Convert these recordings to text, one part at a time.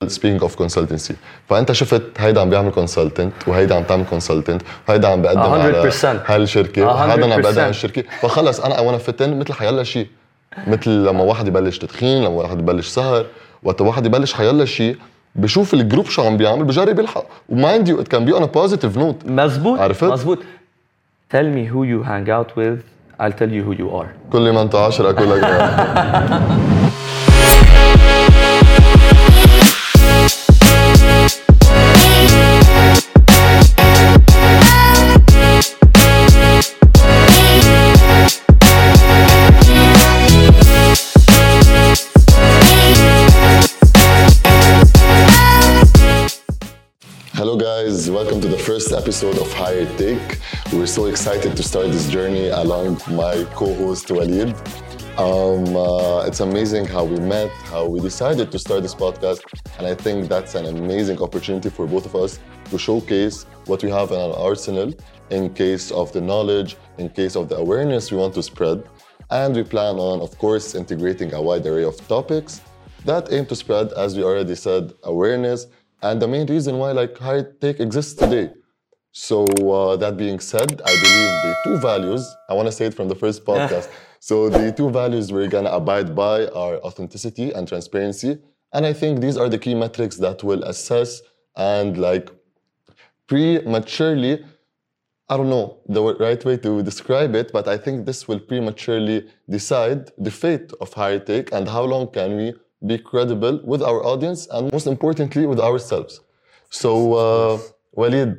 speaking of consultancy فانت شفت هيدا عم بيعمل consultant وهيدا عم تعمل consultant وهيدا عم بقدم على هالشركه وهذا عم بقدم على الشركه فخلص انا وانا فتن مثل حيلا شيء مثل لما واحد يبلش تدخين لما واحد يبلش سهر وقت واحد يبلش حيلا شيء بشوف الجروب شو عم بيعمل بجرب يلحق ومايند يو ات كان بي اون ا بوزيتيف نوت مزبوط tell me who you hang out with I'll tell you who you are كل ما انت 10 اقول لك Hello guys, welcome to the first episode of Higher Take. We're so excited to start this journey along my co-host Walid. It's amazing how we met, how we decided to start this podcast, and I think that's an amazing opportunity for both of us to showcase what we have in our arsenal in case of the knowledge, in case of the awareness we want to spread. And we plan on, of course, integrating a wide array of topics that aim to spread, as we already said, awareness, and the main reason why Higher Take exists today. So that being said, I believe the two values, I want to say it from the first podcast. So the two values we're going to abide by are authenticity and transparency. And I think these are the key metrics that will assess and prematurely, I don't know the right way to describe it, but I think this will prematurely decide the fate of Higher Take and how long can we be credible with our audience and most importantly with ourselves. So Walid.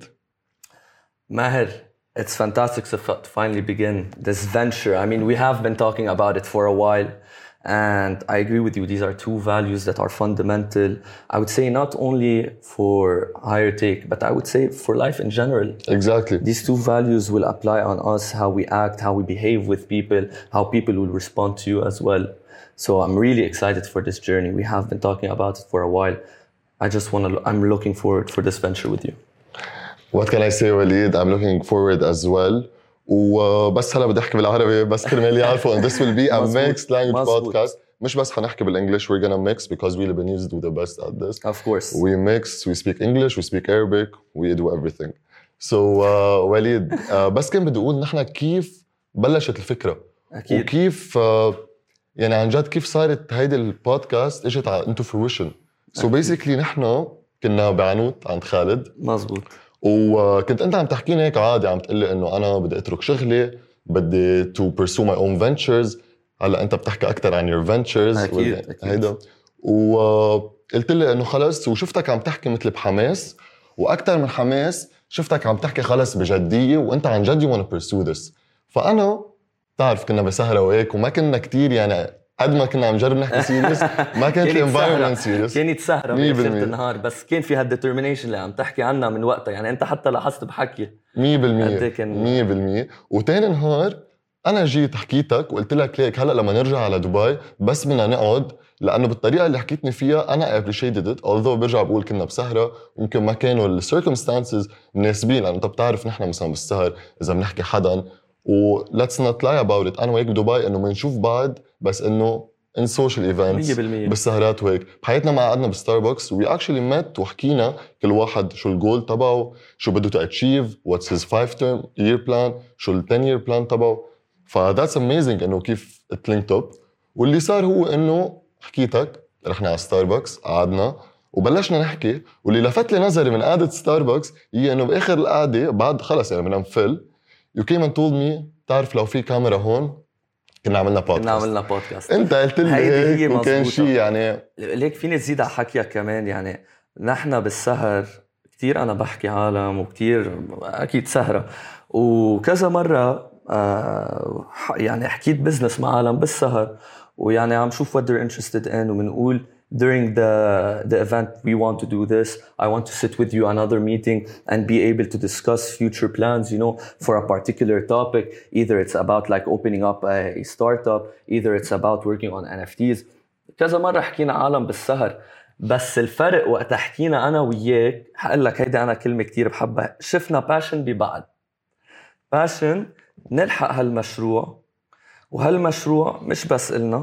Maher, it's fantastic to finally begin this venture. I mean, we have been talking about it for a while and I agree with you. These are two values that are fundamental. I would say not only for Higher Take, but I would say for life in general. Exactly. These two values will apply on us, how we act, how we behave with people, how people will respond to you as well. So I'm really excited for this journey. We have been talking about it for a while. I'm looking forward for this venture with you. What can I say, Walid? I'm looking forward as well. وبس هلا بدي احكي بالعربي بس كرمال يعرفوا and this will be a mixed language podcast. مش بس حنحكي بالانجلش, we're gonna mix because we Lebanese do the best at this. Of course. We mix, we speak English, we speak Arabic, we do everything. So وليد بس كان بدي اقول نحن كيف بلشت الفكرة. أكيد. وكيف يعني عن جد كيف صارت هيدي البودكاست اجت into fruition. So basically نحن كنا بعنوت عند خالد. مزبوط. وكنت انت عم تحكيني هيك عادي عم تقلي انه انا بدي اترك شغلي بدي to pursue my own ventures. هلا انت بتحكي اكثر عن your ventures. أكيد. هيدا وقلت لي انه خلص وشفتك عم تحكي مثل بحماس واكثر من حماس شفتك عم تحكي خلص بجدية وانت عن جد you want to pursue this. فانا تعرف كنا بسهرة وهيك وما كنا كتير يعني قد ما كنا عم نجرب نحكي سيريس ما كانت الانفايرمنت سيريس. كانت سهرة بآخر النهار بس كان في هالديترمينيشن اللي عم تحكي عنها من وقتها. يعني انت حتى لاحظت بحكي 100% 100%. وتاني نهار انا جيت حكيتك وقلت لك ليك هلا لما نرجع على دبي بس بدنا نقعد لانه بالطريقه اللي حكيتني فيها انا appreciated it although برجع بقول كنا بسهره يمكن ما كانوا السيركمستانسز مناسبين لانه انت بتعرف نحن مثلا بالسهر اذا بنحكي حدا و let's not lie about it. أنا وهيك بدبي إنه منشوف بعض بس إنه in social events 100% بالسهرات وهيك. بحياتنا ما قعدنا بستاربكس we actually met وحكينا كل واحد شو الجول تبعه شو بده to achieve what's his 5-term year plan شو ال 10-year plan تبعه. that's amazing إنه كيف it linked up. واللي صار هو إنه حكيتك رحنا على ستاربكس قعدنا وبلشنا نحكي واللي لفت لي نظري من قعدة ستاربكس هي إنه بآخر القعدة بعد خلص يعني بدنا نفل You came and told me تعرف لو في كاميرا هون كنا عملنا بودكاست. انت قلت لي هيك وكان شيء يعني ليك فيني تزيد على حكيك كمان. يعني نحن بالسهر كتير انا بحكي عالم وكتير اكيد سهرة وكذا مرة يعني حكيت بزنس مع عالم بالسهر ويعني عم شوف what they're interested in ومنقول during the event we want to do this. I want to sit with you another meeting and be able to discuss future plans, you know, for a particular topic. Either it's about opening up a startup, either it's about working on NFTs. كذا مرة حكينا عالم بالسهر بس الفرق وقت حكينا أنا وياك هقول لك هيدا أنا كلمة كتير بحبها شفنا باشن ببعض باشن نلحق هالمشروع وهالمشروع مش بس إلنا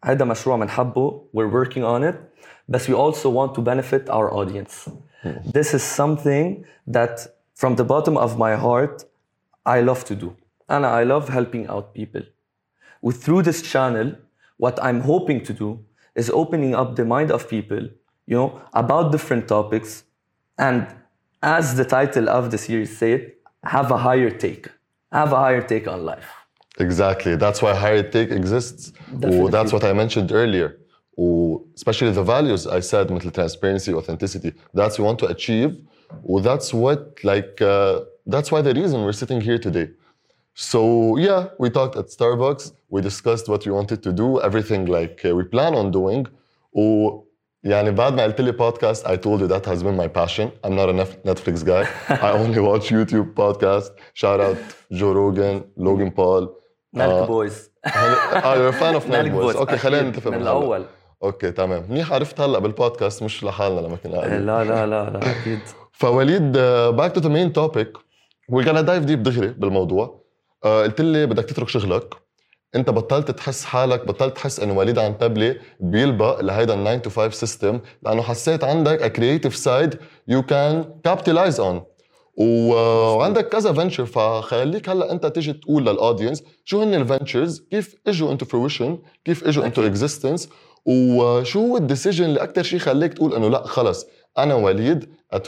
هذا مشروع منحبه, we're working on it, but we also want to benefit our audience. This is something that from the bottom of my heart I love to do, and I love helping out people. Through this channel, what I'm hoping to do is opening up the mind of people, you know, about different topics, and as the title of the series said, have a higher take on life. Exactly. That's why higher take exists. That's what I mentioned earlier. Especially the values I said, مثل transparency, authenticity. That's what we want to achieve. That's what, that's why the reason we're sitting here today. So yeah, we talked at Starbucks. We discussed what we wanted to do, everything we plan on doing. يعني بعد ما قلت لي podcast, I told you that has been my passion. I'm not a Netflix guy. I only watch YouTube podcast. Shout out Joe Rogan, Logan Paul. Nelk Boys. You're a fan of Nelk Boys. Okay, خلينا نتفق من الأول. اوكي تمام. منيح عرفت هلا بالبودكاست مش لحالنا لما كنا قاعدين. لا اكيد. فوليد, back to the main topic. We're gonna dive deep دغري بالموضوع. قلت لي بدك تترك شغلك. انت بطلت تحس حالك, بطلت تحس انه وليد عنتبلي بيلبق لهيدا 9 to 5 system, لانه حسيت عندك a creative side you can capitalize on. وعندك كذا فنتشر. فخليك هلا انت تيجي تقول للاودينس شو هن الفنتشرز, كيف اجوا انتو fruition, كيف اجوا انتو existence, وشو هو الديسيجن اللي اكثر شيء خليك تقول انه لا خلص انا وليد at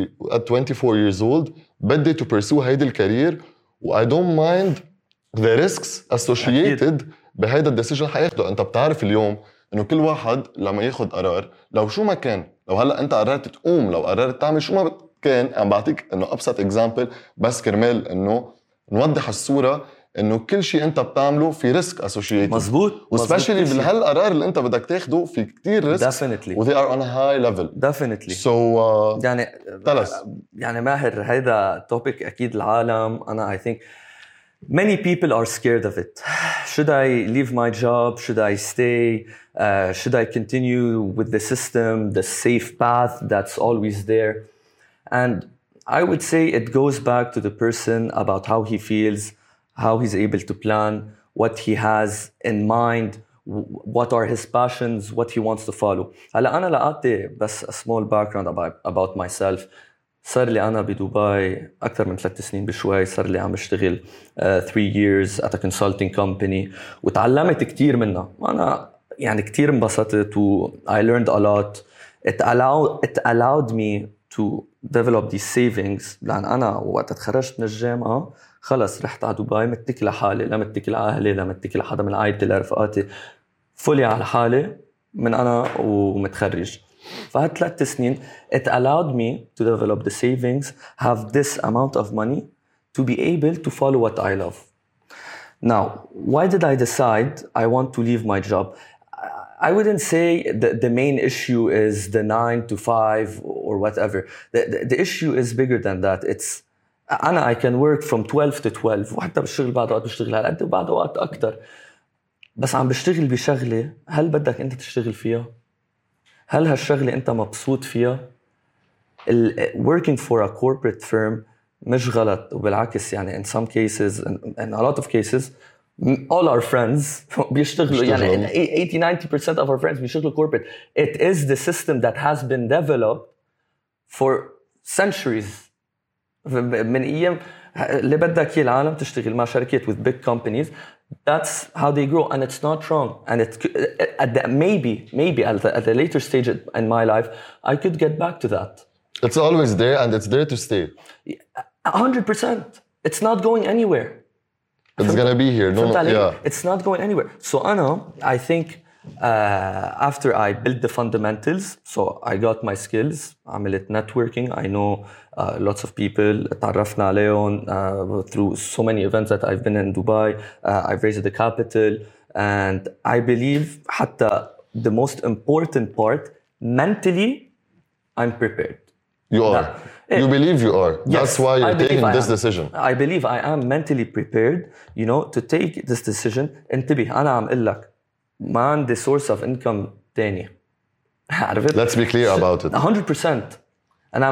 24 years old بدي to pursue هيدي الكارير, و I don't mind the risks associated بهيدا الديسيجن حياخده. انت بتعرف اليوم انه كل واحد لما ياخد قرار, لو شو ما كان, لو هلا انت قررت تقوم, لو قررت تعمل شو ما كان, عم بعطيك انه ابسط اكزامبل بس كرمال انه نوضح الصوره, انه كل شيء انت بتعمله في ريسك اسوشيتد. مزبوط. وسبيشلي بهالقرار اللي انت بدك تاخده في كتير ريسك. definitely. و they are on a high level. definitely. So يعني ماهر هيدا topic اكيد العالم, انا I think many people are scared of it. Should I leave my job? Should I stay? Should I continue with the system, the safe path that's always there? And I would say it goes back to the person about how he feels, how he's able to plan, what he has in mind, what are his passions, what he wants to follow. هلا أنا لقيت بس a small background about myself. صار لي أنا بدبي أكثر من 3 سنين بشوي. صار لي عم بشتغل 3 years at a consulting company, وتعلمت كتير منها. أنا يعني كتير انبسطت و I learned a lot. It allowed me to develop these savings, لأن أنا وقت تخرجت من الجامعة خلص رحت على دبي متكل لحالي, لا متكل على أهلي, لا متكل لحدا من عائلتي, لرفقاتي, فولي على حالي من أنا ومتخرج. فهاد 3 سنين it allowed me to develop the savings, have this amount of money to be able to follow what I love. Now, why did I decide I want to leave my job? I wouldn't say the main issue is the 9 to 5 or whatever. The issue is bigger than that. It's I can work from 12 to 12, وحتى بالشغل بعد وقت بشتغل هالقد وبعد وقت أكتر. بس عم بشتغل بشغلة هل بدك أنت تشتغل فيها؟ هل هالشغلة أنت مبسوط فيها؟ Working for a corporate firm مش غلط, وبالعكس يعني in some cases, in a lot of cases, all our friends بيشتغلوا يعني 80-90% of our friends بيشتغلوا corporate. It is the system that has been developed for centuries. من أيام اللي بدك إياه العالم تشتغل مع شركات with big companies. That's how they grow, and it's not wrong. And maybe at a later stage in my life, I could get back to that. It's always there, and it's there to stay. 100%. It's not going anywhere. It's gonna be here. No, yeah. It's not going anywhere. So I think after I built the fundamentals, so I got my skills. عملت networking. I know lots of people. تعرفنا عليهم through so many events that I've been in Dubai. I've raised the capital, and I believe حتى the most important part, mentally, I'm prepared. You are. You believe you are. Yes, that's why you're taking this decision. I believe I am mentally prepared, you know, to take this decision. انتبه, أنا عم أقول لك ما عندي source of income تاني. عرفت؟ Let's be clear about it. 100%. And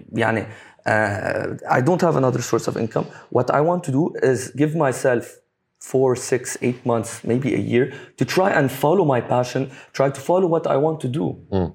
I don't have another source of income. What I want to do is give myself 4, 6, 8 months, maybe a year, to try and follow my passion, try to follow what I want to do.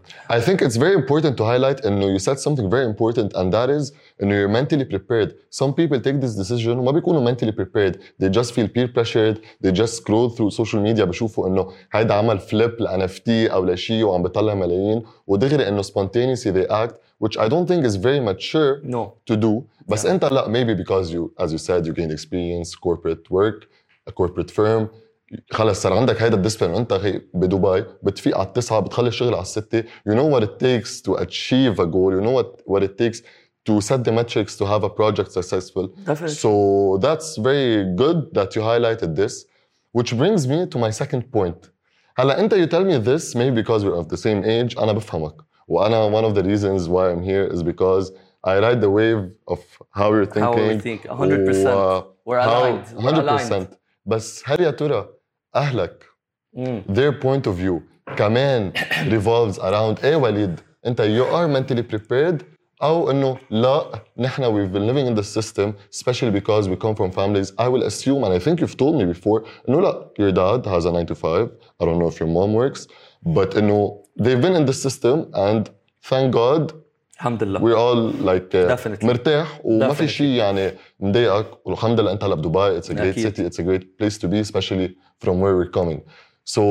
I think it's very important to highlight, and you said something very important, and that is, you're mentally prepared. Some people take this decision وما بيكونوا mentally prepared. They just feel peer pressured. They just scroll through social media بشوفوا إنه هيدا عمل flip ل NFT أو لشيء وعم بيطلع ملايين ودغري إنه spontaneously they act, which I don't think is very mature to do. بس أنت لا, maybe because you, as you said, you gained experience, corporate work, a corporate firm, خلص صار عندك هيدا الديسبلين وانت بدبي بتفيق على 9 بتخلي الشغل على 6. You know what it takes to achieve a goal. You know what it takes to set the metrics to have a project successful. Definitely. So that's very good that you highlighted this, which brings me to my second point. هلا انت you tell me this maybe because we're of the same age. أنا بفهمك وأنا one of the reasons why I'm here is because I ride the wave of how you're thinking. How we think 100%. We're aligned. 100%. بس هل يا ترى أهلك their point of view كمان revolves around إيه وليد أنت you are mentally prepared أو إنه لا نحن we've been living in the system especially because we come from families. I will assume, and I think you've told me before, إنه لا your dad has a 9 to 5. I don't know if your mom works, but إنه they've been in the system and thank God الحمد لله we're all like مرتاح وما في شيء يعني مضايقك والحمد لله انت هلا بدبي. It's a great city, it's a great place to be, especially from where we're coming. So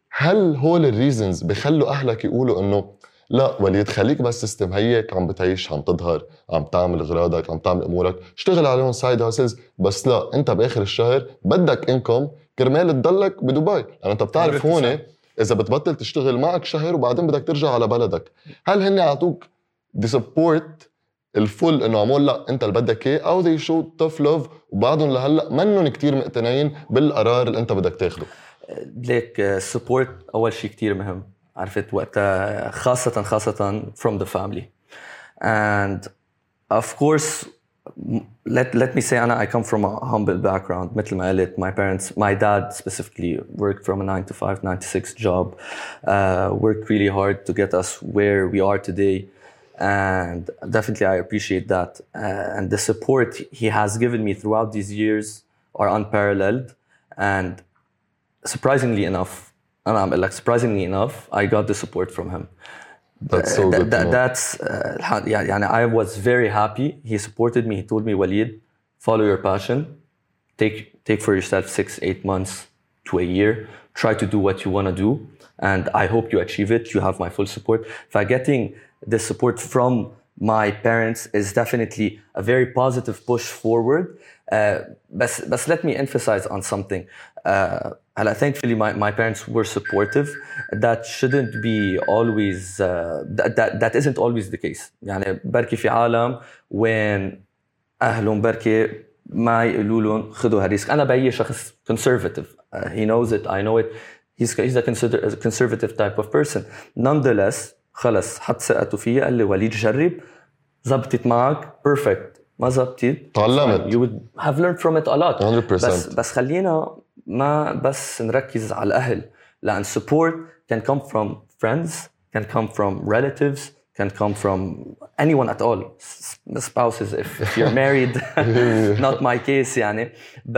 هل هول الريزنز بخلوا أهلك يقولوا إنه لا وليد خليك بس سيستم هيك عم بتعيش عم تظهر عم تعمل أغراضك عم تعمل أمورك اشتغل عليهم سايد هاسلز بس لا أنت بآخر الشهر بدك إنكم كرمال تضلك بدبي لأن أنت بتعرف هون إذا بتبطل تشتغل معك شهر وبعدين بدك ترجع على بلدك. هل هن عطوك دي سبورت الفل انه عمول لا انت اللي بدك اياه او they showed tough love وبعضهم لهلا منهم كتير مقتنعين بالقرار اللي انت بدك تاخده؟ ليك السبورت اول شيء كتير مهم عرفت وقتها خاصة from the family and of course let me say I come from a humble background مثل ما قلت. my dad specifically worked from a 9 to 5 9 to 6 job, worked really hard to get us where we are today. And definitely I appreciate that. And the support he has given me throughout these years are unparalleled. And surprisingly enough, I got the support from him. That's so good. That's I was very happy. He supported me. He told me, Waleed, follow your passion. Take for yourself 6-8 months to a year. Try to do what you want to do. And I hope you achieve it. You have my full support. Getting the support from my parents is definitely a very positive push forward. But let me emphasize on something. Thankfully, my parents were supportive. That shouldn't be always. That isn't always the case. يعني بركي في عالم وين أهلهم بركي ما يقولوا لهم خذوا هالريسك. أنا بأي شخص conservative. He knows it. I know it. He's a conservative type of person. Nonetheless, خلص حط ثقته فيا قال لي وليد جرب زبطت معك perfect ما زبطت تعلمت. You would have learned from it a lot. 100%. بس خلينا ما بس نركز على الأهل لأن support can come from friends, can come from relatives, can come from anyone at all. Spouses if you're married. Not my case يعني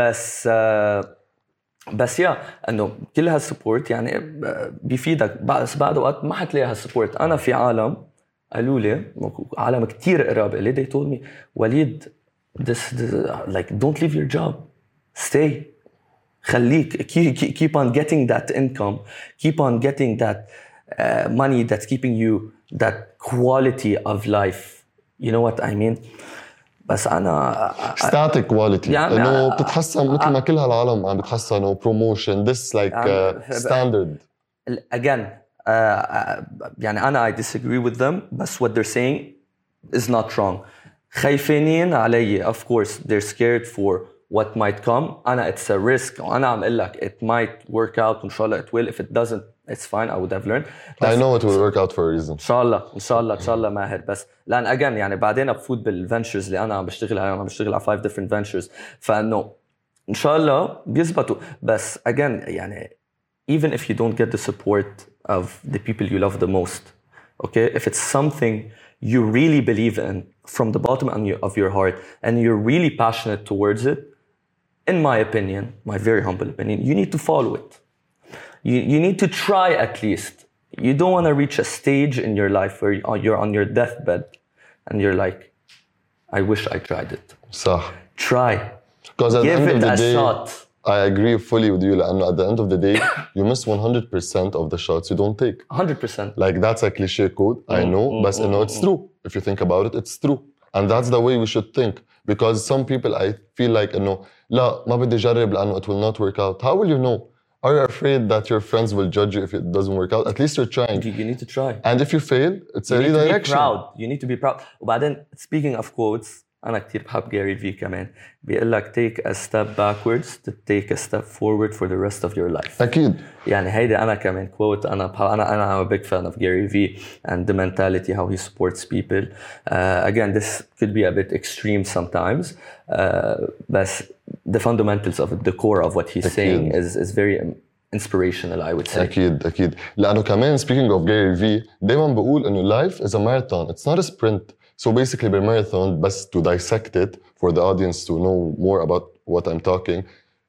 بس يا انه كل هالسبورت يعني بيفيدك. بس بعد وقت ما حتلاقي هالسبورت. انا في عالم قالوا لي عالم كتير قراب لي they told me وليد this like don't leave your job, stay, خليك keep on getting that income, keep on getting that money that's keeping you that quality of life. You know what I mean? بس أنا static quality يعني إنه بتتحسن مثل ما كل هالعالم عم بتحسنوا promotion this like standard again يعني أنا I disagree with them بس what they're saying is not wrong. خايفين علي of course they're scared for what might come. أنا it's a risk وأنا عم أقول لك it might work out وإن شاء الله it will. If it doesn't it's fine. I would have learned. I know it will work out for a reason. إن شاء الله ماهر. بس لأن again يعني بعدين بفوت بالفنتشرز اللي أنا عم بشتغل عليهم. عم بشتغل على 5 different ventures. فإنه إن شاء الله بيزبطوا. بس again يعني even if you don't get the support of the people you love the most, okay, if it's something you really believe in from the bottom of your heart and you're really passionate towards it, in my opinion, my very humble opinion, you need to follow it. You need to try at least. You don't want to reach a stage in your life where you're on your deathbed and you're like, I wish I tried it. صح. Try. Because at Give the end it of a the day, shot. I agree fully with you. لأنه at the end of the day, you miss 100% of the shots you don't take. 100%. Like that's a cliche quote, I know, but you know, it's true. If you think about it, it's true. And that's the way we should think. Because some people, I feel like, you know, لا ما بدي جرب لأنه it will not work out. How will you know? Are you afraid that your friends will judge you if it doesn't work out? At least you're trying. You need to try. And if you fail, it's a You need to be redirection. proud. You need to be proud. وبعدين speaking of quotes, أنا كتير بحب Gary V كمان. بيقول لك take a step backwards to take a step forward for the rest of your life. أكيد. يعني هيدا أنا كمان quote أنا I'm a big fan of Gary V and the mentality how he supports people. Again, this could be a bit extreme sometimes, but the fundamentals of it, the core of what he's saying is very inspirational, I would say. أكيد. لأنه كمان speaking of Gary V, دايما بقول إنه life is a marathon. It's not a sprint. So basically بالmarathon, بس to dissect it for the audience to know more about what I'm talking.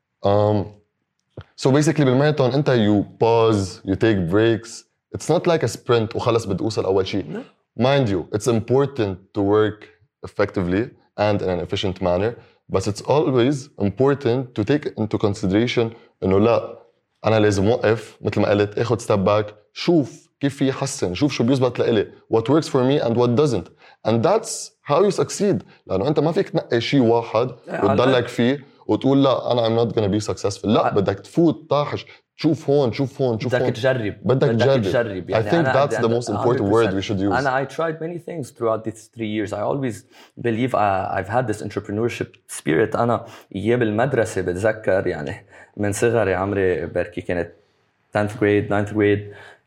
So basically بالmarathon أنت you pause, you take breaks. It's not like a sprint وخلص بدي أوصل أول شيء. Mind you, it's important to work effectively and in an efficient manner, but it's always important to take into consideration إنه لا أنا لازم أوقف مثل ما قلت أخذ step back شوف كيف في يحسن شوف شو بيزبط لإلي what works for me and what doesn't and that's how you succeed لأنه أنت ما فيك تنقي شيء واحد وتضلك فيه وتقول لا أنا I'm not gonna be successful لا بدك تفوت طاحش تشوف هون بدك تجرب يعني I think that's the most important word we should use. And I tried many things throughout these 3 years. I always believe I've had this entrepreneurship spirit. أنا أيام المدرسة بتذكر يعني من صغري عمري بركي كانت 10th grade 9th grade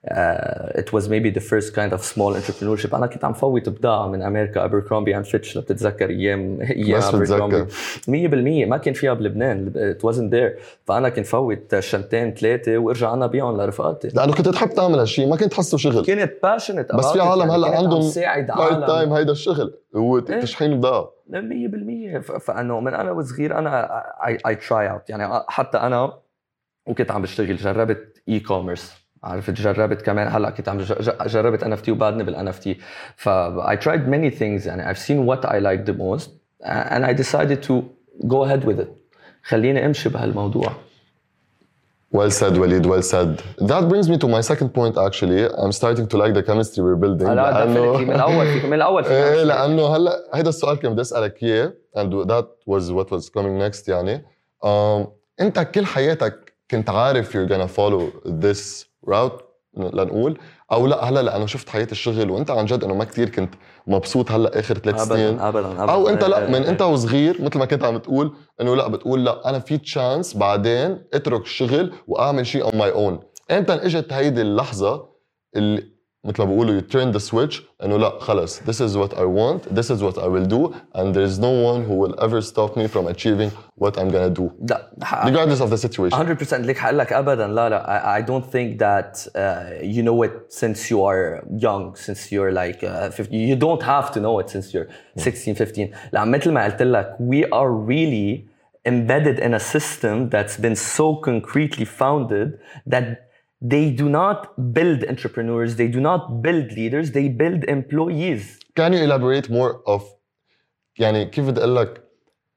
it was maybe the first kind of small entrepreneurship. أنا كنت عم فوت بضاعة من أمريكا Abercrombie and Fitch بتتذكر أيام Abercrombie 100% ما كان فيها بلبنان it wasn't there. فأنا كنت فوت شنطين 3 وارجع أنا بيعهم لرفقاتي لأنه كنت تحب تعمل هالشيء ما كنت تحسه شغل كنت passionate بس في عالم يعني هلا عندهم part time هيدا الشغل هو تشحين بضاعة 100% فأنه من أنا وصغير أنا I try out يعني حتى أنا وكنت عم بشتغل جربت e-commerce عرفت جربت كمان هلا كنت عم جربت NFT وبعدني بالNFT ف I tried many things يعني I've seen what I like the most and I decided to go ahead with it خليني امشي بهالموضوع. Well said Walid, well said. That brings me to my second point actually. I'm starting to like the chemistry we're building. لا من الأول لأنه هلا هيدا السؤال كان بدي أسألك إياه and that was what was coming next يعني. أنت كل حياتك كنت عارف you're gonna follow this route لنقول أو لا هلا لأنه شفت حياة الشغل وأنت عن جد إنه ما كتير كنت مبسوط هلا آخر 3 سنين أبداً. أو أنت لا من أنت وصغير مثل ما كنت عم تقول إنه لا بتقول لا أنا في تشانس بعدين أترك الشغل وأعمل شيء on my own. أنت إجت هيدي اللحظة اللي مثل ما بيقولوا you turn the switch إنه لا خلص this is what I want this is what I will do and there is no one who will ever stop me from achieving what I'm gonna do regardless of the situation. 100% ليك حقلك أبداً لا I don't think that you know it since you are young since you're like 50 you don't have to know it since you're 16 15 لا مثل ما قلت لك we are really embedded in a system that's been so concretely founded that they do not build entrepreneurs, they do not build leaders, they build employees. Can you elaborate more of يعني كيف بدي أقول لك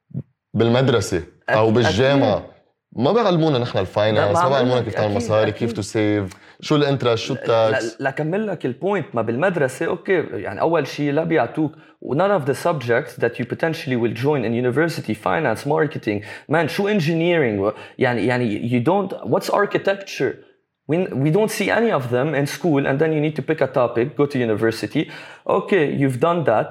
بالمدرسة أو بالجامعة ما بيعلمونا نحن الفاينانس ما بيعلمونا كيف تعمل مصاري كيف تو سيف شو الانترست شو التاكس لا كمل لك البوينت ما بالمدرسة أوكي يعني أول شيء لا بيعطوك none of the subjects that you potentially will join in university finance marketing man شو engineering يعني you don't what's architecture we don't see any of them in school and then you need to pick a topic go to university okay you've done that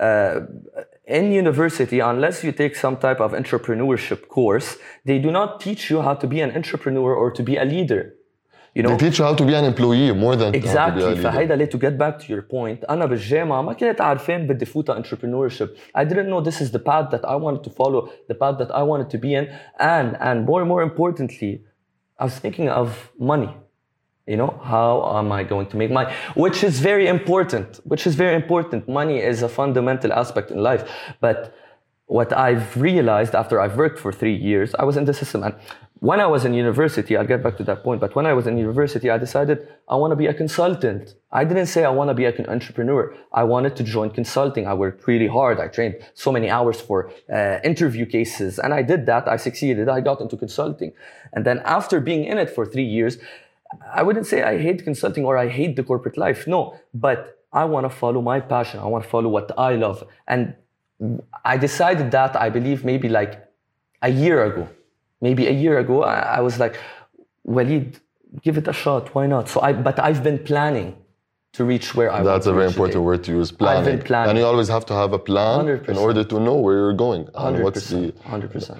in university unless you take some type of entrepreneurship course they do not teach you how to be an entrepreneur or to be a leader you know they teach you how to be an employee more than exactly how to be a leader. فهيدا to get back to your point أنا بالجامعة ما كنت عارفين بدي فوت entrepreneurship I didn't know this is the path that I wanted to follow the path that I wanted to be in and more importantly I was thinking of money. You know, how am I going to make money? Which is very important. Money is a fundamental aspect in life. But what I've realized after I've worked for 3 years, I was in the system. And when I was in university, I'll get back to that point, but when I was in university, I decided I want to be a consultant. I didn't say I want to be an entrepreneur. I wanted to join consulting. I worked really hard. I trained so many hours for interview cases, and I did that. I succeeded. I got into consulting. And then after being in it for 3 years, I wouldn't say I hate consulting or I hate the corporate life. No, but I want to follow my passion. I want to follow what I love. And I decided that, I believe, maybe like a year ago. Maybe a year ago, I was like, Walid, give it a shot. Why not? But I've been planning to reach where I want to reach. That's a very important word to use, planning. I've been planning. And you always have to have a plan 100%. in order to know where you're going. 100%. 100%.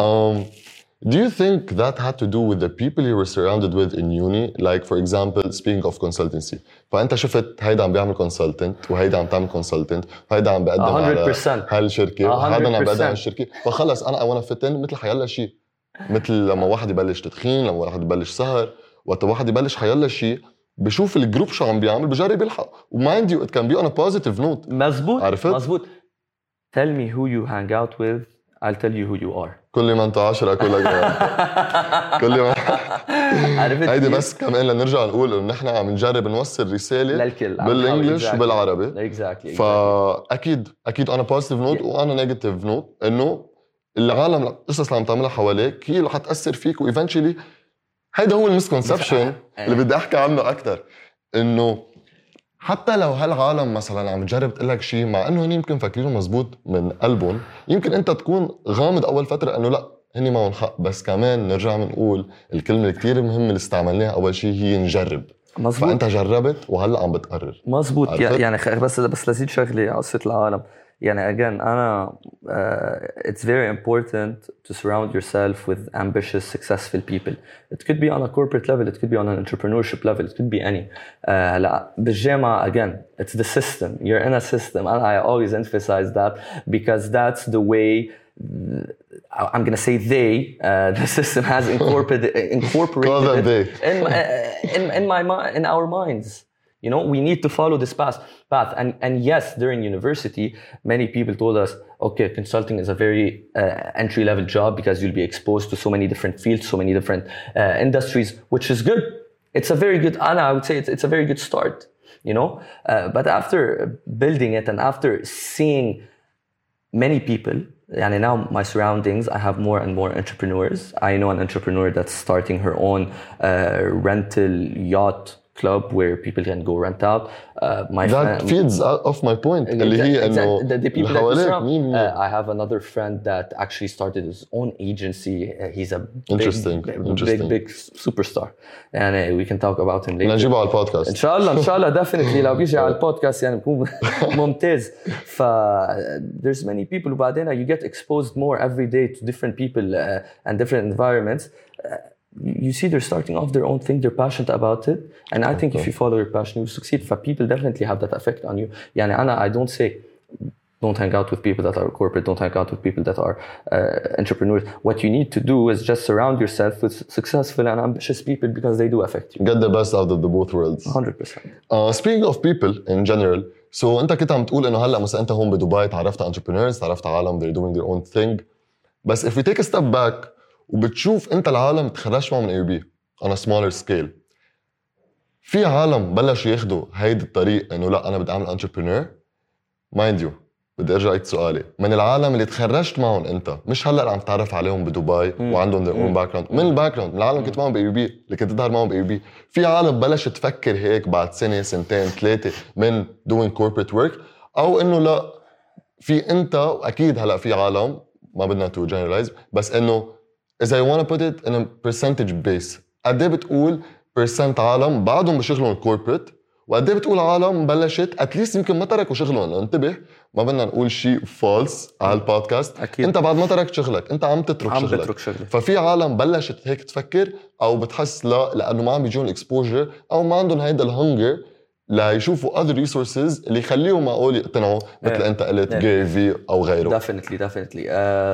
Do you think that had to do with the people you were surrounded with in uni? Like, for example, speaking of consultancy. فأنت شفت هيدا عم بيعمل consultant وهيدا عم تعمل consultant وهيدا عم بقدم على هالشركة وهذا عم بقدم على الشركة. فخلص أنا I want to fit in مثل حيلا شيء. مثل لما واحد يبلش تدخين، لما واحد يبلش سهر، وقت واحد يبلش حيلا شيء بشوف الجروب شو عم بيعمل بجرب يلحق. وmind you it can be on a positive note. مزبوط. عرفت؟ مزبوط. Tell me who you hang out with, I'll tell you who you are. كل ما انت 10 كلك كل ما هيدي بس كمان لنرجع نقول انه نحن عم نجرب نوصل رساله للكل بالانجلش وبالعربي. فاكيد on a positive note وانا negative note انه العالم القصص اللي عم تعملها حواليك هي اللي حتاثر فيك وايفنتشلي. هيدا هو المسكونسبشن اللي بدي احكي عنه اكثر. انه حتى لو هالعالم مثلا عم تجرب تقول لك شيء مع انه هن يمكن فاكرينه مزبوط من قلبهم، يمكن انت تكون غامض اول فتره انه لا هن معهم حق. بس كمان نرجع بنقول الكلمه اللي كثير مهمه اللي استعملناها اول شيء هي نجرب. مزبوط. فانت جربت وهلا عم بتقرر. مزبوط. يعني بس لزيد شغله على قصه العالم. يعني again أنا it's very important to surround yourself with ambitious, successful people. It could be on a corporate level, it could be on an entrepreneurship level, it could be any. لا بالجامعة again, it's the system. You're in a system, and I always emphasize that because that's the way. I'm gonna say the system has incorporated it in our minds. You know, we need to follow this path. And yes, during university, many people told us, okay, consulting is a very entry-level job because you'll be exposed to so many different fields, so many different industries, which is good. It's a very good, Anna, I would say it's a very good start, you know. But after building it and after seeing many people, and now my surroundings, I have more and more entrepreneurs. I know an entrepreneur that's starting her own rental yacht club where people can go rent out. That feeds off my point. اللي هي إنه the people that you surround. I have another friend that actually started his own agency. He's a big superstar. And we can talk about him later. نجيبه على البودكاست. إن شاء الله definitely لو بيجي على البودكاست يعني بكون ممتاز. There's many people وبعدين you get exposed more every day to different people and different environments. You see they're starting off their own thing, they're passionate about it, and I think if you follow your passion you succeed. People definitely have that effect on you. يعني I don't say don't hang out with people that are corporate, don't hang out with people that are entrepreneurs. What you need to do is just surround yourself with successful and ambitious people because they do affect you. Get the best out of the both worlds. 100%. Speaking of people in general, so انت كنت عم تقول انه هلا مثلا انت هون بدبي تعرفت على entrepreneurs، تعرفت على عالم they're doing their own thing. بس if we take a step back وبتشوف انت العالم تخرجت معهم من AUB on a smaller scale، في عالم بلشوا ياخدوا هيدا الطريق انه لا انا بدي اعمل entrepreneur. mind you بدي ارجع لك سؤالي، من العالم اللي تخرجت معهم انت، مش هلا اللي عم تعرف عليهم بدبي وعندهم their own background، من الباكجراوند، من العالم كنت معهم AUB اللي كنت تظهر معهم AUB، في عالم بلشت تفكر هيك بعد سنه سنتين ثلاثه من doing corporate work، او انه لا في انت واكيد هلا في عالم ما بدنا to generalize بس انه إذا you want to put it in a percentage base، قد ايه بتقول percent عالم بعدهم بشغلهم الكوربريت، وقد ايه بتقول عالم بلشت اتليست يمكن ما تركوا شغلهم؟ انتبه ما بدنا نقول شيء فالس على البودكاست. أكيد. انت بعد ما تركت شغلك انت عم تترك شغلك. ففي عالم بلشت هيك تفكر او بتحس لا لانه ما عم بيجون الاكسبوجر او ما عندهم هيدا الهنجر ليشوفوا other resources اللي يخليهم معقول يقتنعوا مثل انت قلت جيري في او غيره. definitely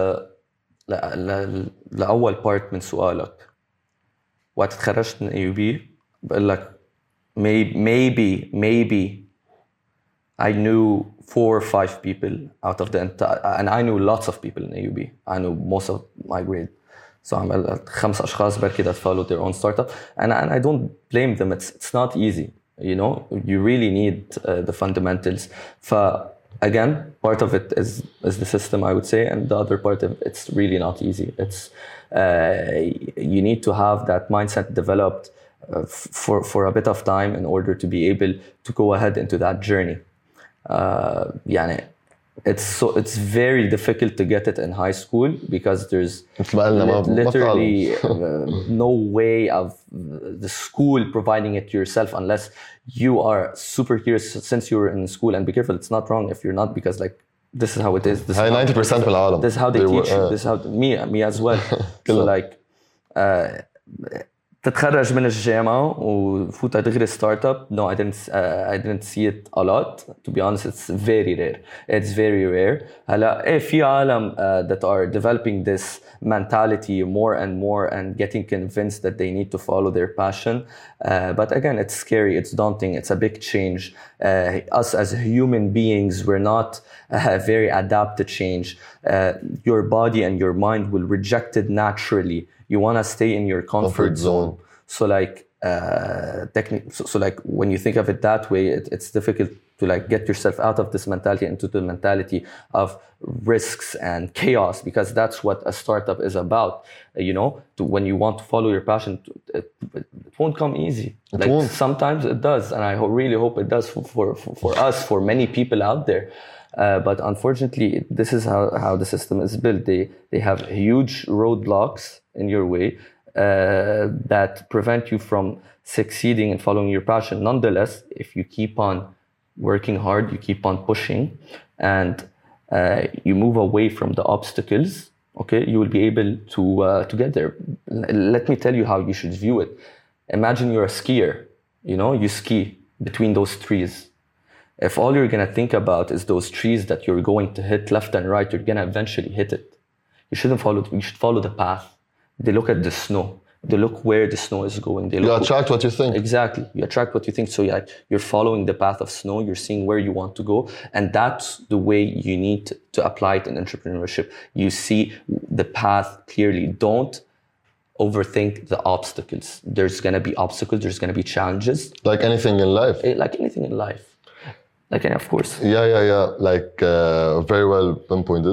لأول بارت من سؤالك، وقت تخرجت من AUB بقول لك maybe I knew 4 or 5 people out of the entire, and I knew lots of people in AUB. I knew most of my grade. So I'm 5 أشخاص بركي that followed their own startup, and I don't blame them. It's not easy, you know. You really need the fundamentals. Again, part of it is the system, I would say, and the other part of it's really not easy. It's you need to have that mindset developed for a bit of time in order to be able to go ahead into that journey. يعني it's very difficult to get it in high school because there's literally no way of the school providing it to yourself unless you are super curious since you're in school. And be careful, it's not wrong if you're not, because like this is how it is. This is 90% من العالم. This is how they teach you. This is how me as well. So like تتخرج من الجامعة وفوت دغري ستارت اب. No, I didn't see it a lot. To be honest, it's very rare. It's very rare. هلا في عالم that are developing this mentality more and more and getting convinced that they need to follow their passion. But again, it's scary. It's daunting. It's a big change. Us as human beings, we're not very adapt to change. Your body and your mind will reject it naturally. You want to stay in your comfort zone. So like so like when you think of it that way, it's difficult to like get yourself out of this mentality into the mentality of risks and chaos, because that's what a startup is about. You know, when you want to follow your passion, it won't come easy. Like sometimes it does, and I really hope it does for us, for many people out there. But unfortunately, this is how the system is built. They have huge roadblocks in your way that prevent you from succeeding and following your passion. Nonetheless, if you keep on working hard, you keep on pushing, and you move away from the obstacles, okay, you will be able to get there. Let me tell you how you should view it. Imagine you're a skier. You know, you ski between those trees. If all you're going to think about is those trees that you're going to hit left and right, you're going to eventually hit it. You shouldn't follow it. You should follow the path. They look at the snow. They look where the snow is going. You attract what you think. Exactly. You attract what you think. So you're following the path of snow. You're seeing where you want to go. And that's the way you need to apply it in entrepreneurship. You see the path clearly. Don't overthink the obstacles. There's going to be obstacles. There's going to be challenges. Like anything in life. Like anything in life. Like, of course. Yeah. Like very well pinpointed.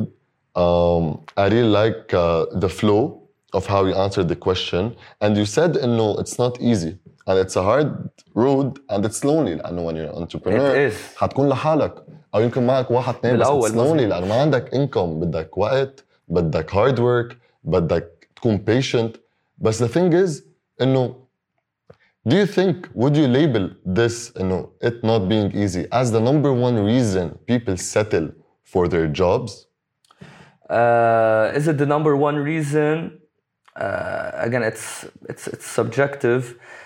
I really like the flow of how you answered the question. And you said, no, it's not easy. And it's a hard road and it's lonely. لأنه when you're an entrepreneur, حتكون لحالك. أو يمكن معك واحد اثنين بس it's lonely. لأنه ما عندك income. بدك وقت, بدك hard work, بدك تكون patient. But the thing is, إنه do you think, would you label this, it not being easy as the number one reason people settle for their jobs? Is it the number one reason? Again, it's subjective.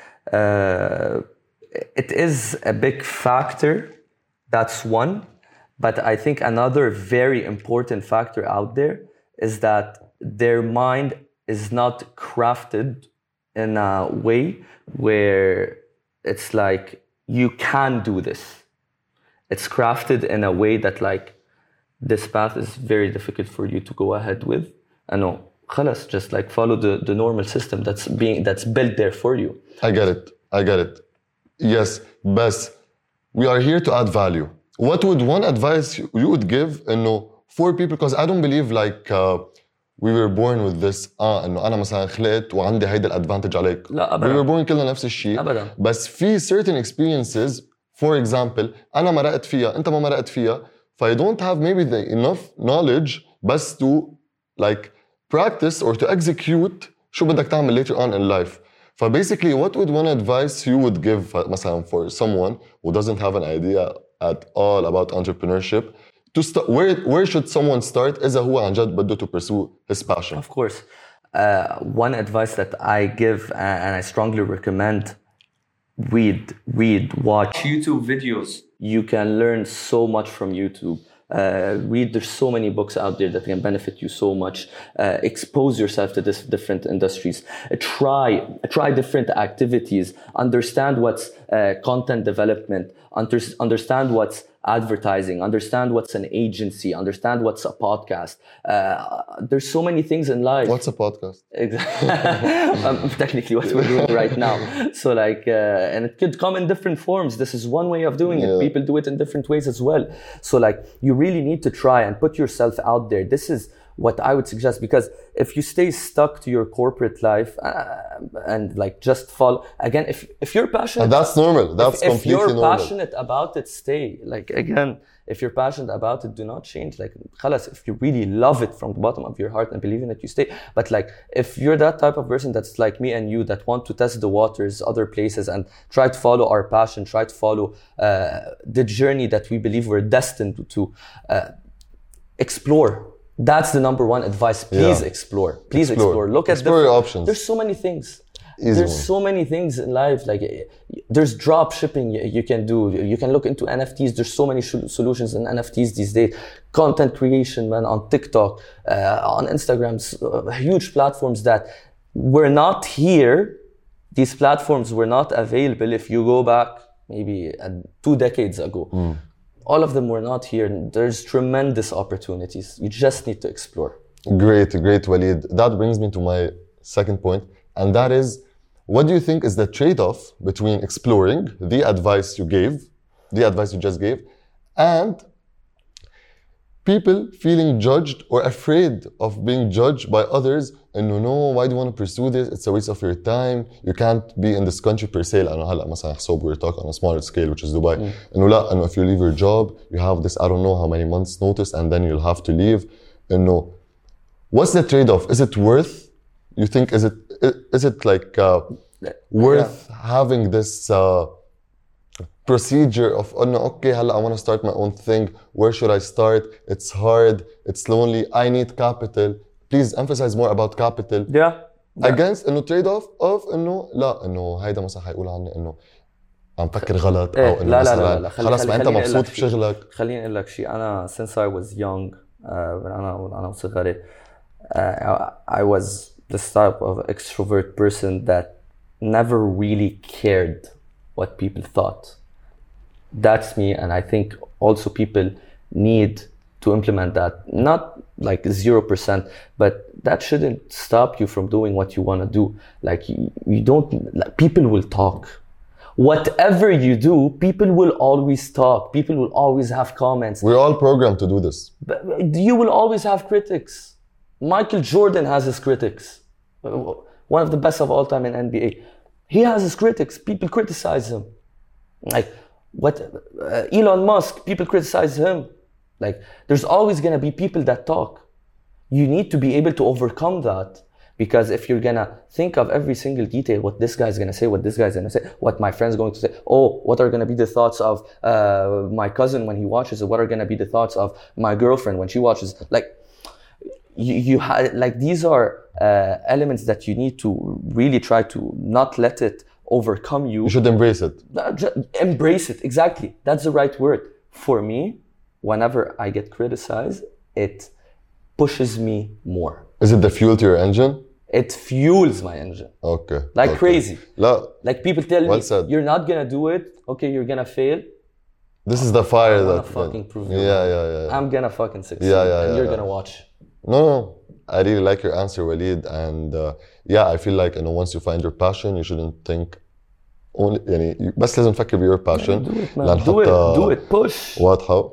It is a big factor. That's one. But I think another very important factor out there is that their mind is not crafted in a way where it's like, you can do this. It's crafted in a way that like, this path is very difficult for you to go ahead with. I know, خلاص, just like follow the normal system that's built there for you. I get it. Yes, but we are here to add value. What would one advice you would give, for people? Because I don't believe like we were born with this. إنه أنا مثلا خلقت وعندي هيدا الادفانتج عليك. لا أبدا. We were born كلنا نفس الشيء. أبدا. بس في certain experiences, for example, أنا مرقت فيها، أنت ما مرقت فيها. You don't have maybe the enough knowledge بس to like practice or to execute شو بدك تعمل later on in life. Basically, what would one advice you would give مثلا for someone who doesn't have an idea at all about entrepreneurship to start? Where should someone start إذا هو عن جد بده to pursue his passion? Of course. One advice that I give and I strongly recommend, read, watch YouTube videos. You can learn so much from YouTube. There's so many books out there that can benefit you so much. Expose yourself to this different industries. Try different activities. Understand what's content development. Understand what's advertising, understand what's an agency, understand what's a podcast. There's so many things in life. What's a podcast? Technically what we're doing right now. So like, and it could come in different forms. This is one way of doing it. People do it in different ways as well. So like, you really need to try and put yourself out there. This is what I would suggest, because if you stay stuck to your corporate life and like just follow, again, if you're passionate, and that's normal. That's completely normal. If you're passionate about it, stay. Like, again, if you're passionate about it, do not change. Like, khalas, if you really love it from the bottom of your heart and believe in it, you stay. But like, if you're that type of person that's like me and you, that want to test the waters, other places, and try to follow our passion, try to follow the journey that we believe we're destined to explore. That's the number one advice. Please explore. Please explore. Look at your options. There's so many things. There's so many things in life. Like, there's drop shipping you can do. You can look into NFTs. There's so many solutions in NFTs these days. Content creation, man, on TikTok, on Instagram, huge platforms that were not here. These platforms were not available if you go back maybe 2 decades ago. All of them were not here. There's tremendous opportunities. You just need to explore. Great, Walid. That brings me to my second point, and that is, what do you think is the trade-off between exploring the advice you just gave, and people feeling judged or afraid of being judged by others? And no, why do you want to pursue this? It's a waste of your time. You can't be in this country per se. لأنه هلا مثلا حسب we're talking on a smaller scale, which is Dubai. إنه لا, إنه if you leave your job, you have this I don't know how many months notice, and then you'll have to leave. إنه what's the trade-off? Is it worth? You think is it like worth having this procedure of okay, هلا I want to start my own thing. Where should I start? It's hard. It's lonely. I need capital. Please emphasize more about capital. Against إنه trade off of إنه لا إنه هيدا مثلا حيقول عني إنه عم فكر غلط أو إنه لا خلاص ما أنت مبسوط بشغلك. خليني أقول لك شيء. أنا since I was young أنا صغير I was this type of extrovert person that never really cared what people thought. That's me, and I think also people need to implement that. Not like 0%, but that shouldn't stop you from doing what you want to do. Like, you don't, like, people will talk. Whatever you do, people will always talk. People will always have comments. We're all programmed to do this. But you will always have critics. Michael Jordan has his critics. One of the best of all time in NBA. He has his critics. People criticize him. Like, Elon Musk, people criticize him. Like, there's always going to be people that talk. You need to be able to overcome that, because if you're going to think of every single detail, what this guy's going to say, what this guy's going to say, what my friend's going to say, what are going to be the thoughts of my cousin when he watches it, what are going to be the thoughts of my girlfriend when she watches, like, like, these are elements that you need to really try to not let it overcome you. You should embrace it. Embrace it, exactly. That's the right word. For me, whenever I get criticized, it pushes me more. Is it the fuel to your engine? It fuels my engine. Okay. Like crazy. La. Like, people tell me, said. You're not gonna do it. Okay, you're gonna fail. This is the fire I'm that... gonna fucking prove you. Yeah. I'm gonna fucking succeed. And you're gonna watch. No. I really like your answer, Walid. And I feel like, once you find your passion, you shouldn't think only, يعني بس لازم تفكر ب your passion. Do it, man. Do it. Push. واضحة.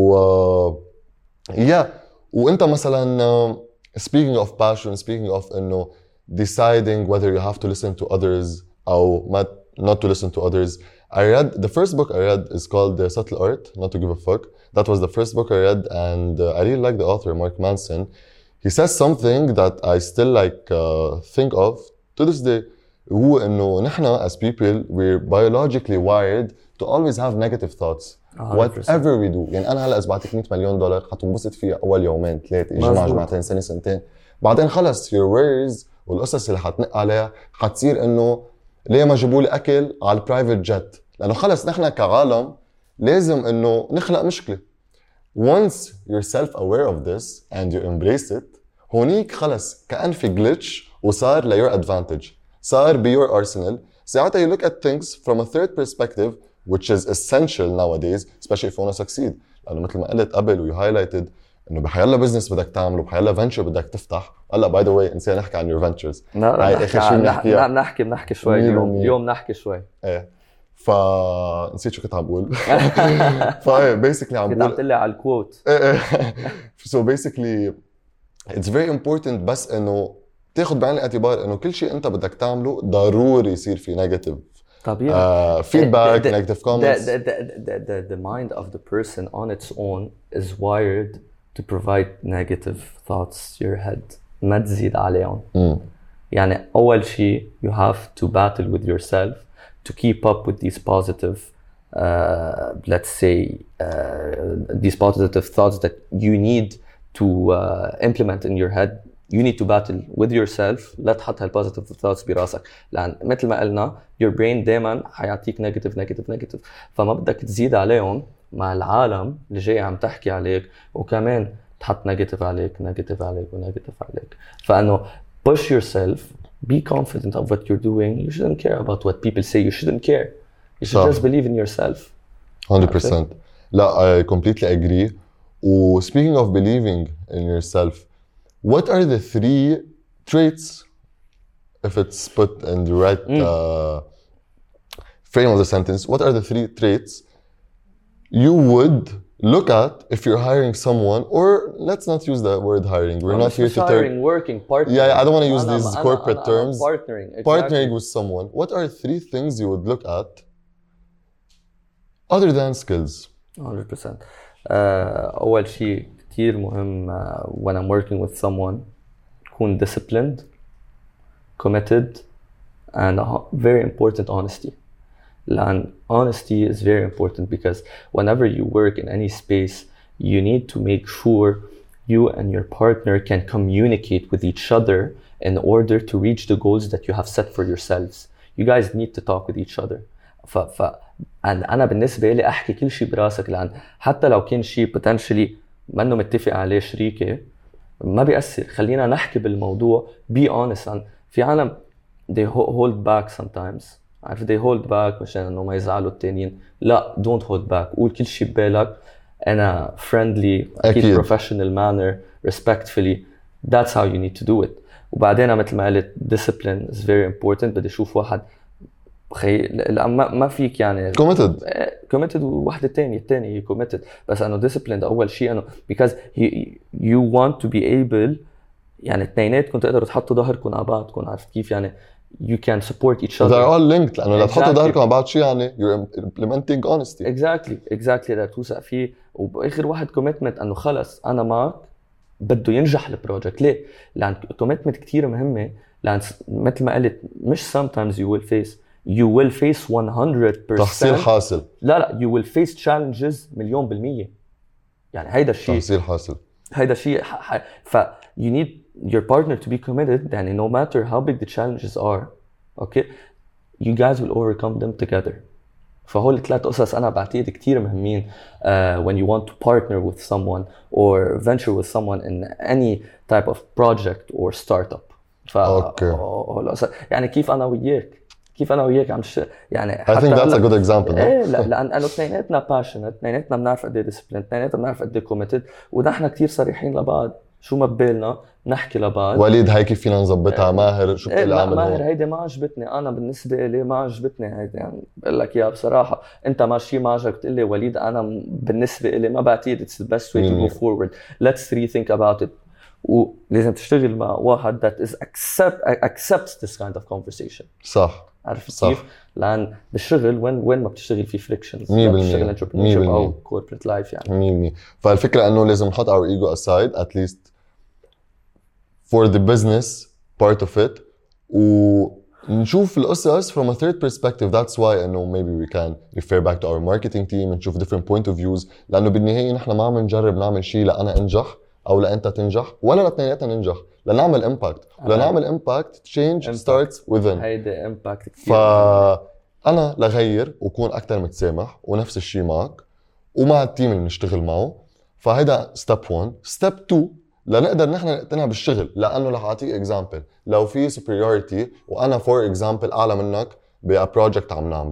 وانت مثلا speaking of passion, speaking of deciding whether you have to listen to others or not to listen to others. The first book I read is called The Subtle Art Not to Give a Fuck. That was the first book I read, and I really like the author, Mark Manson. He says something that I still think of to this day. هو إنه نحن as people we're biologically wired to always have negative thoughts. 100%. Whatever we do. يعني أنا هلا إذا بعطيك $100 مليون حتنبسط فيها أول يومين 3 جمعتين سنة سنتين. بعدين خلص your worries والقصص اللي حتنق عليها حتصير إنه ليه ما جابوا لي أكل على البرايفت جت؟ لأنه خلص نحن كعالم لازم إنه نخلق مشكلة. Once you're self-aware of this and you embrace it, هونيك خلص كأن في glitch وصار ل your advantage. صار ب your arsenal. ساعتها you look at things from a third perspective which is essential nowadays especially if you want to succeed. لأنه مثل ما قلت قبل و you highlighted إنه بحيالله بزنس بدك تعمله بحيالله venture بدك تفتح. هلا by the way نسينا نحكي عن your ventures. لا نحكي شوي اليوم نحكي شوي. ايه نسيت شو كنت عم بقول. basically عم بقول كنت عم تقلي على الكوت. so basically it's very important بس إنه تاخد بعين الاعتبار إنه كل شيء أنت بدك تعمله ضروري يصير في negative feedback, negative comments. The mind of the person on its own is wired to provide negative thoughts to your head. ما تزيد عليهم. يعني أول شيء you have to battle with yourself to keep up with these positive let's say these positive thoughts that you need to implement in your head. You need to battle with yourself. لا تحط هالpositive thoughts براسك لأن مثل ما قلنا your brain دائما حيعطيك negative فما بدك تزيد عليهم مع العالم اللي جاي عم تحكي عليك وكمان تحط negative عليك فأنه push yourself, be confident of what you're doing. You shouldn't care about what people say. You shouldn't care. You should just believe in yourself. 100%. لا, I completely agree. Speaking of believing in yourself, what are the 3 traits, if it's put in the right frame of the sentence, what are the 3 traits you would look at if you're hiring someone, or let's not use the word hiring. We're not here to hiring, working, partnering. Yeah, I don't want to use these corporate terms. Partnering, exactly. Partnering with someone. What are 3 things you would look at other than skills? 100%. أول شيء كتير مهم when I'm working with someone تكون disciplined, committed, and very important honesty. And honesty is very important because whenever you work in any space, you need to make sure you and your partner can communicate with each other in order to reach the goals that you have set for yourselves. You guys need to talk with each other. أنا بالنسبة لي أحكي كل شيء براسك لأن حتى لو كان شيء potentially ما إنه متفق عليه شريكي ما بيأثر. خلينا نحكي بالموضوع. Be honest. في عالم they hold back sometimes. عارف they hold back مشان إنه ما يزعلوا التانيين. لا, don't hold back. قول كل شيء ببالك أنا friendly, أكيد professional manner, respectfully. That's how you need to do it. وبعدين مثل ما قلت discipline is very important. بدي أشوف واحد ما فيك يعني committed وواحدة الثانية committed بس أنه disciplined أول شيء أنه because you want to be able يعني اثنيناتكم تقدروا تحطوا ظهركم على بعضكم. عارف كيف يعني you can support each other. They're all linked لأنه لا تحطوا ظهركم على بعض شيء يعني you're implementing honesty. exactly ده توثق فيه. وبآخر واحد commitment أنه خلص أنا معك بده ينجح البروجكت. ليه؟ لأن commitment كتير مهمة لأن مثل ما قلت مش sometimes you will face 100% تحصيل حاصل. لا you will face challenges 1,000,000%. يعني هيدا الشيء تحصيل حاصل. هيدا الشيء you need your partner to be committed. يعني no matter how big the challenges are, okay, you guys will overcome them together. فهول 3 قصص أنا بعتقد كتير مهمين when you want to partner with someone or venture with someone in any type of project or startup. يعني كيف أنا وياك عم يعني I think that's a good example. إيه لأنه اثنيناتنا passionate, اثنيناتنا بنعرف قد إيه disciplined, اثنيناتنا بنعرف قد إيه committed, ونحن كتير صريحين لبعض. شو ما ببالنا نحكي لبعض. وليد هاي كيف فينا نظبطها؟ ماهر شو بتقول اعمل هون؟ ماهر هيدي ما عجبتني. أنا بالنسبة لي ما عجبتني هيدي. يعني بقول لك يا بصراحة أنت ماشي ما عجبك تقول لي وليد أنا بالنسبة لي ما بعتقد it's the best way to go forward. Let's rethink about it. ولازم تشتغل مع واحد that is accepts this kind of conversation. صح. عارف كيف؟ لأن بالشغل وين ما بتشتغل في frictions. بتشتغل entrepreneurship أو corporate life يعني. 100%. فالفكرة إنه لازم نحط our ego aside at least for the business part of it ونشوف القصص from a third perspective. That's why إنه maybe we can refer back to our marketing team ونشوف different point of views. لأنه بالنهاية نحن ما عم نجرب نعمل شيء لأنا أنجح أو لأنت تنجح ولا لاتنيناتنا ننجح. لنعمل impact. ولنعمل impact change starts within. هيدا impact كتير. فأنا لغير وكون أكتر متسامح ونفس الشيء معك ومع التيم اللي نشتغل معه. فهيدا step 1. step 2 لنقدر نحن نقتنع بالشغل. لأنه رح أعطيك example. لو في superiority وأنا for example أعلى منك بproject عم نعمله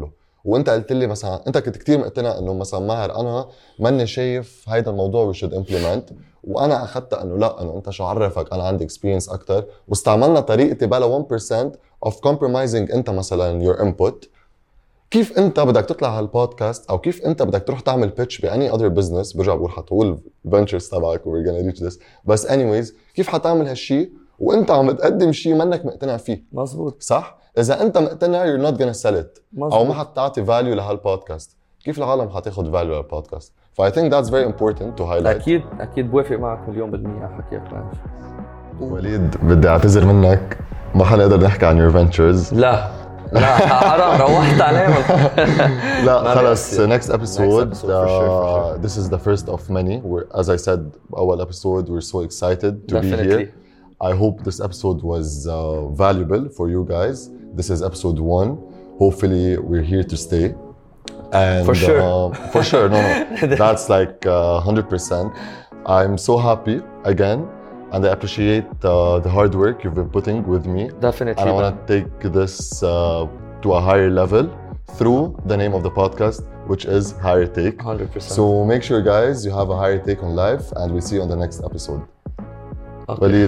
وانت قلت لي مثلا انت كنت كتير مقتنع انه مثلا ماهر انا ماني شايف هيدا الموضوع we should implement، وانا اخذت انه لا، انه انت شو عرفك انا عندي experience اكتر، واستعملنا طريقتي بلا 1% of compromising انت مثلا your input. كيف انت بدك تطلع هالبودكاست او كيف انت بدك تروح تعمل pitch بأني other business، برجع بقول حتقول ventures تبعك we're gonna reach this، بس anyways كيف حتعمل هالشي وانت عم تقدم شيء منك مقتنع فيه؟ مزبوط. صح؟ اذا انت مقتنع you're not gonna sell it، مزبوط. او ما حتعطي value لهالبودكاست، كيف العالم حتاخد value للبودكاست؟ ف I think that's very important to highlight. اكيد بوافق معك 1,000,000% حكيك ماشي. وليد بدي اعتذر منك، ما حنقدر نحكي عن your ventures. لا حرام روحت عليهم. لا خلص next episode, for sure. this is the first of many. As I said أول episode we're so excited to Definitely. be here. I hope this episode was valuable for you guys. This is episode 1. Hopefully we're here to stay. And For sure. For sure, no. That's like 100%. I'm so happy again. And I appreciate the hard work you've been putting with me. Definitely. And I want to take this to a higher level through the name of the podcast, which is Higher Take. 100%. So make sure, guys, you have a higher take on life, and we'll see you on the next episode. Okay. Walid.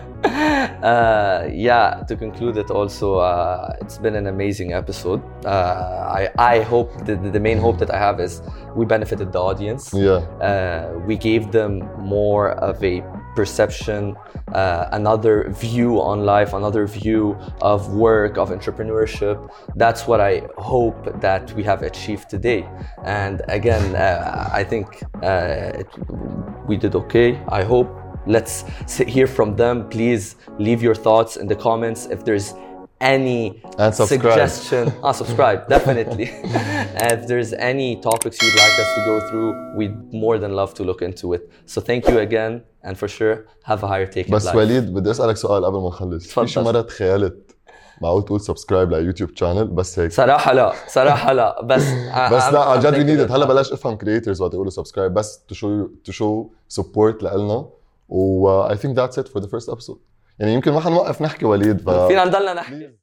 Yeah, to conclude it also, it's been an amazing episode. I hope the main hope that I have is we benefited the audience. Yeah. We gave them more of a perception, another view on life, another view of work, of entrepreneurship. That's what I hope that we have achieved today. And again, I think we did okay. I hope. Let's hear from them. Please leave your thoughts in the comments. If there's any suggestion, subscribe definitely. If there's any topics you'd like us to go through, we'd more than love to look into it. So thank you again, and for sure have a higher take in life. بس وليد بدي اسالك سؤال قبل ما نخلص. في شي مره تخيلت معقول تقول سبسكرايب ليوتيوب شانل بس هيك؟ صراحه لا بس لا عن جد وي نيد. هلا بلاش افهم كرييترز وقت يقولوا سبسكرايب، بس to show support لنا. و I think that's it for the first episode. يعني يمكن ما حنوقف نحكي وليد، فينا نضلنا نحكي.